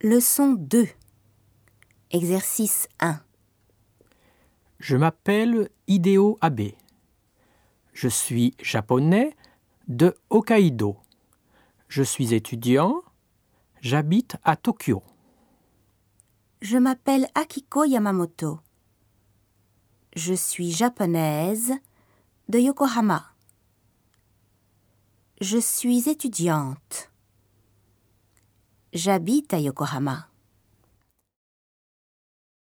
Leçon 2. Exercice 1. Je m'appelle Hideo Abe. Je suis japonais de Hokkaido. Je suis étudiant. J'habite à Tokyo. Je m'appelle Akiko Yamamoto. Je suis japonaise de Yokohama. Je suis étudiante. J'habite à Yokohama.